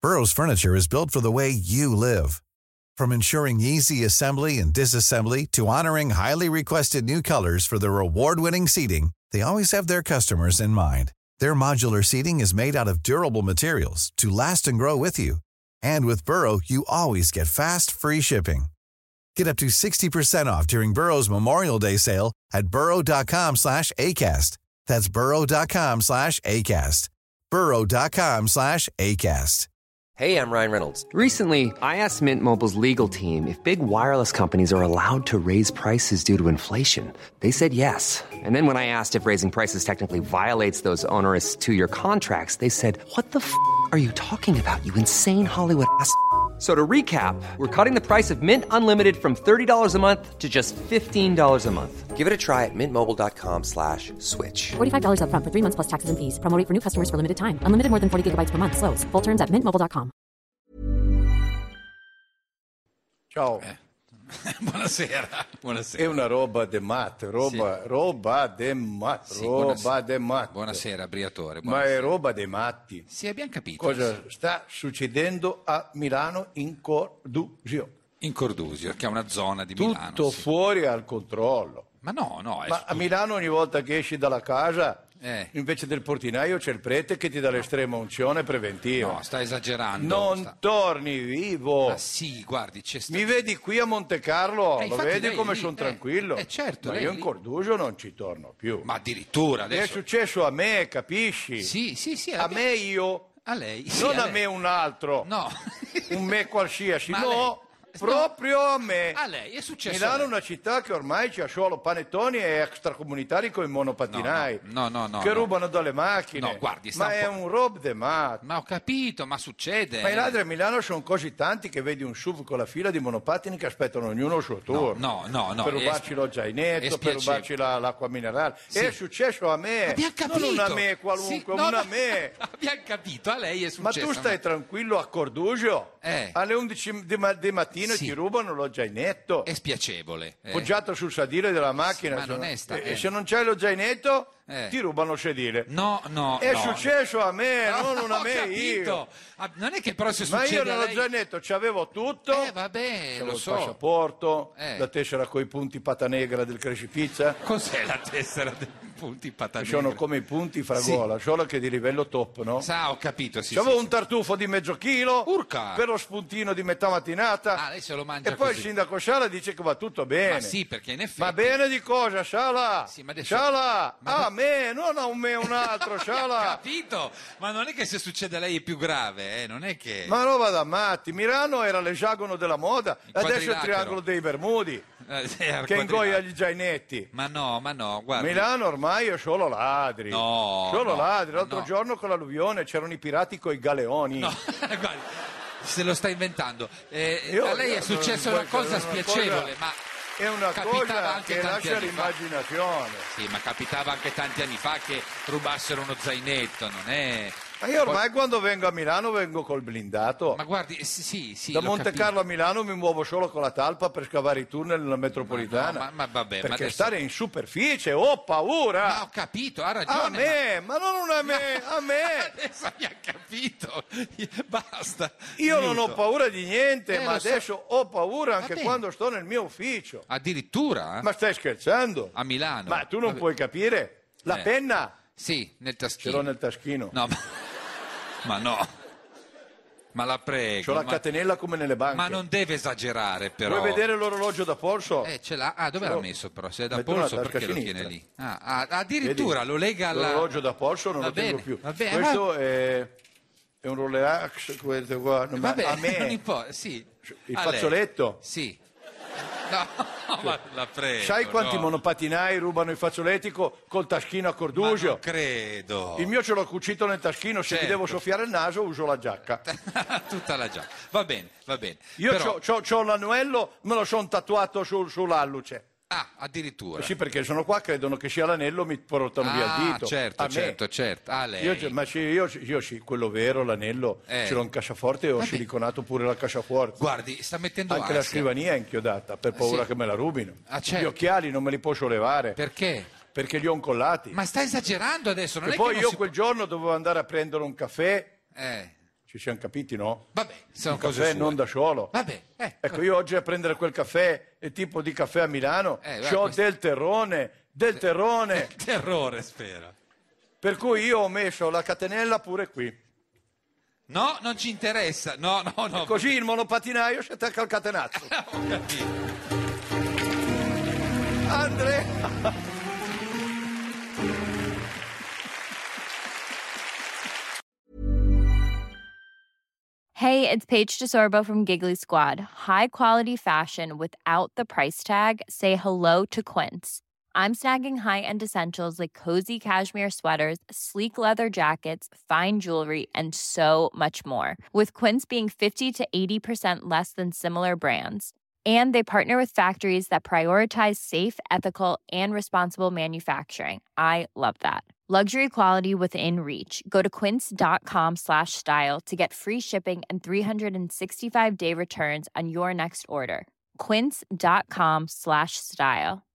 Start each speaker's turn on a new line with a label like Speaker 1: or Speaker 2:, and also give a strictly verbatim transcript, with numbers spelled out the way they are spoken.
Speaker 1: Burrow's furniture is built for the way you live. From ensuring easy assembly and disassembly to honoring highly requested new colors for their award-winning seating, they always have their customers in mind. Their modular seating is made out of durable materials to last and grow with you. And with Burrow, you always get fast, free shipping. Get up to sixty percent off during Burrow's Memorial Day sale at burrow.com slash ACAST. That's burrow.com slash ACAST. burrow.com slash ACAST.
Speaker 2: Hey, I'm Ryan Reynolds. Recently, I asked Mint Mobile's legal team if big wireless companies are allowed to raise prices due to inflation. They said yes. And then when I asked if raising prices technically violates those onerous two-year contracts, they said, what the f*** are you talking about, you insane Hollywood ass f- So to recap, we're cutting the price of Mint Unlimited from thirty dollars a month to just fifteen dollars a month. Give it a try at mintmobile.com slash switch.
Speaker 3: forty-five dollars up front for three months plus taxes and fees. Promo rate for new customers for limited time. Unlimited more than forty gigabytes per month. Slows full terms at mint mobile dot com.
Speaker 4: Ciao.
Speaker 5: Eh. Buonasera. Buonasera.
Speaker 4: È una roba de mat, roba,
Speaker 5: Sì.
Speaker 4: roba de mat,
Speaker 5: Sì,
Speaker 4: roba
Speaker 5: buonasera.
Speaker 4: de mat.
Speaker 5: Buonasera, Briatore.
Speaker 4: Ma
Speaker 5: Buonasera.
Speaker 4: è roba dei matti.
Speaker 5: Sì, abbiamo capito.
Speaker 4: Cosa sta succedendo a Milano in Cordusio?
Speaker 5: In Cordusio, che è una zona di
Speaker 4: Tutto
Speaker 5: Milano. Sì.
Speaker 4: fuori al controllo.
Speaker 5: Ma no, no. È
Speaker 4: Ma a Milano ogni volta che esci dalla casa,
Speaker 5: Eh.
Speaker 4: invece del portinaio c'è il prete che ti dà l'estrema unzione preventiva.
Speaker 5: No, sta esagerando.
Speaker 4: Non
Speaker 5: sta...
Speaker 4: torni vivo.
Speaker 5: Ma sì, guardi, c'è sta...
Speaker 4: Mi vedi qui a Monte Carlo,
Speaker 5: Eh,
Speaker 4: lo
Speaker 5: infatti
Speaker 4: vedi
Speaker 5: lei
Speaker 4: come
Speaker 5: lì,
Speaker 4: sono
Speaker 5: eh,
Speaker 4: tranquillo?
Speaker 5: eh, certo,
Speaker 4: Ma
Speaker 5: lei
Speaker 4: io in
Speaker 5: lì.
Speaker 4: Cordusio non ci torno più.
Speaker 5: Ma addirittura
Speaker 4: È
Speaker 5: adesso...
Speaker 4: successo a me, capisci?
Speaker 5: Sì, sì, sì.
Speaker 4: A
Speaker 5: abbiamo-
Speaker 4: me io,
Speaker 5: A lei. Sì,
Speaker 4: non a
Speaker 5: lei.
Speaker 4: me un altro,
Speaker 5: No.
Speaker 4: un me qualsiasi,
Speaker 5: Ma
Speaker 4: no,
Speaker 5: lei-
Speaker 4: proprio a me.
Speaker 5: A lei, è successo
Speaker 4: Milano
Speaker 5: a
Speaker 4: è
Speaker 5: lei.
Speaker 4: una città che ormai c'ha solo panettoni e extracomunitari con i monopatinai
Speaker 5: No, no, no, no,
Speaker 4: che
Speaker 5: no.
Speaker 4: rubano dalle macchine.
Speaker 5: No, guardi, sta
Speaker 4: ma
Speaker 5: un
Speaker 4: è
Speaker 5: po'-
Speaker 4: un rob de mat.
Speaker 5: Ma ho capito, ma succede.
Speaker 4: Ma i ladri a Milano sono così tanti che vedi un S U V con la fila di monopattini che aspettano ognuno il suo turno.
Speaker 5: No, no, no.
Speaker 4: per
Speaker 5: è-
Speaker 4: rubarci lo
Speaker 5: è
Speaker 4: zainetto, per
Speaker 5: spiacevole.
Speaker 4: rubarci la- l'acqua minerale.
Speaker 5: Sì.
Speaker 4: È successo a me,
Speaker 5: Abbiamo capito.
Speaker 4: non a me qualunque,
Speaker 5: Sì, no,
Speaker 4: una a
Speaker 5: no,
Speaker 4: me.
Speaker 5: Abbiamo capito, a lei è
Speaker 4: Ma
Speaker 5: successo.
Speaker 4: tu stai tranquillo a Cordusio?
Speaker 5: Eh.
Speaker 4: Alle undici di, ma- di mattino
Speaker 5: Sì.
Speaker 4: ti rubano lo zainetto,
Speaker 5: È spiacevole. eh.
Speaker 4: poggiato sul sedile della macchina.
Speaker 5: ma
Speaker 4: se
Speaker 5: non
Speaker 4: no-
Speaker 5: è sta-
Speaker 4: e,
Speaker 5: eh.
Speaker 4: e se non c'hai lo zainetto,
Speaker 5: Eh.
Speaker 4: ti rubano il sedile.
Speaker 5: No, no,
Speaker 4: È
Speaker 5: no.
Speaker 4: successo a me,
Speaker 5: No,
Speaker 4: non a
Speaker 5: ho
Speaker 4: me
Speaker 5: capito.
Speaker 4: io.
Speaker 5: Ah, non è che però se
Speaker 4: Ma
Speaker 5: succede
Speaker 4: io
Speaker 5: a
Speaker 4: nello
Speaker 5: lei...
Speaker 4: zainetto c'avevo tutto.
Speaker 5: Eh, vabbè,
Speaker 4: C'avevo
Speaker 5: lo
Speaker 4: il
Speaker 5: so.
Speaker 4: passaporto,
Speaker 5: Eh.
Speaker 4: la tessera coi punti pata negra del Crescipizza,
Speaker 5: Cos'è la tessera dei punti
Speaker 4: che
Speaker 5: patate?
Speaker 4: sono come i punti fragola, solo che di livello top, no?
Speaker 5: Sa, ho capito, sì.
Speaker 4: C'avevo
Speaker 5: sì,
Speaker 4: un tartufo di mezzo chilo
Speaker 5: Urca!
Speaker 4: per lo spuntino di metà mattinata.
Speaker 5: Ah, lei se lo mangia
Speaker 4: e poi
Speaker 5: così.
Speaker 4: il sindaco Sala dice che va tutto bene.
Speaker 5: Ma sì, perché in effetti...
Speaker 4: Ma bene di cosa, Sala?
Speaker 5: Sì, ma adesso-
Speaker 4: Sala!
Speaker 5: Ma-
Speaker 4: Ah, a me, non a un me un altro,
Speaker 5: Ho
Speaker 4: Sala!
Speaker 5: capito, ma non è che se succede a lei è più grave, eh? Non è che...
Speaker 4: Ma roba da matti, Milano era l'esagono della moda,
Speaker 5: Il
Speaker 4: adesso è il
Speaker 5: quadrilatero.
Speaker 4: triangolo dei Bermudi,
Speaker 5: Eh, sì, al
Speaker 4: che ingoia
Speaker 5: quadrilatero.
Speaker 4: gli zainetti.
Speaker 5: Ma no, ma no, guarda.
Speaker 4: Milano ormai è solo ladri.
Speaker 5: No,
Speaker 4: Solo
Speaker 5: no,
Speaker 4: ladri. L'altro
Speaker 5: no.
Speaker 4: giorno con l'alluvione c'erano i pirati coi galeoni.
Speaker 5: No, guardi, se lo sta inventando. Eh,
Speaker 4: Io-
Speaker 5: a lei è
Speaker 4: io-
Speaker 5: successa
Speaker 4: io-
Speaker 5: una cosa
Speaker 4: una
Speaker 5: spiacevole,
Speaker 4: cosa-
Speaker 5: ma
Speaker 4: È una
Speaker 5: capitava
Speaker 4: cosa
Speaker 5: anche
Speaker 4: che
Speaker 5: tanti
Speaker 4: lascia
Speaker 5: anni fa.
Speaker 4: l'immaginazione.
Speaker 5: Sì, ma capitava anche tanti anni fa che rubassero uno zainetto, non è...
Speaker 4: Ma io ormai quando vengo a Milano vengo col blindato.
Speaker 5: Ma guardi, eh, sì, sì, sì,
Speaker 4: Da
Speaker 5: l'ho
Speaker 4: Monte
Speaker 5: capito.
Speaker 4: Carlo a Milano mi muovo solo con la talpa per scavare i tunnel nella metropolitana.
Speaker 5: Ma no, ma- ma vabbè, ma
Speaker 4: perché
Speaker 5: adesso-
Speaker 4: stare in superficie ho paura.
Speaker 5: Ma ho capito, ha ragione.
Speaker 4: a me, ma... non a me, a
Speaker 5: ma-
Speaker 4: me.
Speaker 5: Adesso abbiamo capito, basta.
Speaker 4: Io non ho
Speaker 5: Finito.
Speaker 4: paura di niente,
Speaker 5: Eh,
Speaker 4: ma
Speaker 5: lo so.
Speaker 4: adesso ho paura anche
Speaker 5: Va bene.
Speaker 4: quando sto nel mio ufficio.
Speaker 5: Addirittura?
Speaker 4: Ma stai scherzando?
Speaker 5: A Milano?
Speaker 4: Ma tu non
Speaker 5: Vabbè.
Speaker 4: puoi capire? La
Speaker 5: Eh.
Speaker 4: penna
Speaker 5: Sì, nel
Speaker 4: ce
Speaker 5: taschino.
Speaker 4: l'ho nel taschino.
Speaker 5: No, ma... ma no. Ma la prego.
Speaker 4: C'ho la
Speaker 5: ma...
Speaker 4: catenella come nelle banche.
Speaker 5: ma non deve esagerare, però.
Speaker 4: Vuoi vedere l'orologio da polso?
Speaker 5: Eh, ce l'ha. Ah, dove
Speaker 4: Ce
Speaker 5: l'ha
Speaker 4: l'ho.
Speaker 5: messo però? Se è da
Speaker 4: Metto nella
Speaker 5: polso, perché
Speaker 4: tasca
Speaker 5: lo
Speaker 4: sinistra.
Speaker 5: tiene lì? Ah, ah, addirittura
Speaker 4: Vedi?
Speaker 5: lo lega alla...
Speaker 4: L'orologio da polso non
Speaker 5: Va
Speaker 4: lo tengo
Speaker 5: bene,
Speaker 4: più.
Speaker 5: va bene,
Speaker 4: Questo è, è un Rolex, questo qua. No, ma
Speaker 5: Vabbè,
Speaker 4: a me
Speaker 5: non importa, sì.
Speaker 4: il
Speaker 5: A lei.
Speaker 4: fazzoletto.
Speaker 5: Sì. No, ma la prego.
Speaker 4: Sai quanti
Speaker 5: no.
Speaker 4: monopatinai rubano i fazzoletti co- col taschino a
Speaker 5: Ma
Speaker 4: Cordusio?
Speaker 5: non credo.
Speaker 4: Il mio ce l'ho cucito nel taschino, se
Speaker 5: Certo.
Speaker 4: mi devo soffiare il naso uso la giacca.
Speaker 5: Tutta la giacca. Va bene, va bene.
Speaker 4: Io
Speaker 5: Però...
Speaker 4: c'ho, c'ho- c'ho l'anello, me lo sono tatuato sul, sull'alluce.
Speaker 5: Ah, addirittura.
Speaker 4: Sì, perché sono qua, credono che sia l'anello, mi portano via il
Speaker 5: Ah,
Speaker 4: dito.
Speaker 5: certo,
Speaker 4: A me.
Speaker 5: certo, certo. Ah, lei.
Speaker 4: Io, ma sì, io, io sì, quello vero, l'anello,
Speaker 5: Eh.
Speaker 4: ce l'ho in cassaforte e ho
Speaker 5: Vabbè.
Speaker 4: siliconato pure la cassaforte.
Speaker 5: Guardi, sta mettendo
Speaker 4: Anche la
Speaker 5: ansia.
Speaker 4: scrivania è inchiodata, per paura
Speaker 5: sì.
Speaker 4: che me la rubino.
Speaker 5: Ah, certo.
Speaker 4: Gli occhiali non me li posso levare,
Speaker 5: Perché?
Speaker 4: perché li ho incollati.
Speaker 5: Ma sta esagerando adesso, non
Speaker 4: e
Speaker 5: è
Speaker 4: poi
Speaker 5: che non
Speaker 4: io
Speaker 5: si
Speaker 4: quel giorno dovevo andare a prendere un caffè,
Speaker 5: può... Eh,
Speaker 4: Ci siamo capiti, no?
Speaker 5: Vabbè, sono
Speaker 4: Il
Speaker 5: cose
Speaker 4: caffè
Speaker 5: sue.
Speaker 4: non da solo.
Speaker 5: Vabbè, eh,
Speaker 4: Ecco, io oggi a prendere quel caffè, il tipo di caffè a Milano,
Speaker 5: Eh,
Speaker 4: c'ho
Speaker 5: questo-
Speaker 4: del terrone, del terrone.
Speaker 5: terrore, spero.
Speaker 4: Per cui io ho messo la catenella pure qui.
Speaker 5: No, non ci interessa. No, no, no.
Speaker 4: Così il monopatinaio si attacca al catenazzo.
Speaker 5: Ho capito.
Speaker 4: Andrea!
Speaker 6: Hey, it's Paige DeSorbo from Giggly Squad. High quality fashion without the price tag. Say hello to Quince. I'm snagging high-end essentials like cozy cashmere sweaters, sleek leather jackets, fine jewelry, and so much more. With Quince being fifty to eighty percent less than similar brands. And they partner with factories that prioritize safe, ethical, and responsible manufacturing. I love that. Luxury quality within reach. Go to quince.com slash style to get free shipping and three sixty-five day returns on your next order. Quince.com slash style.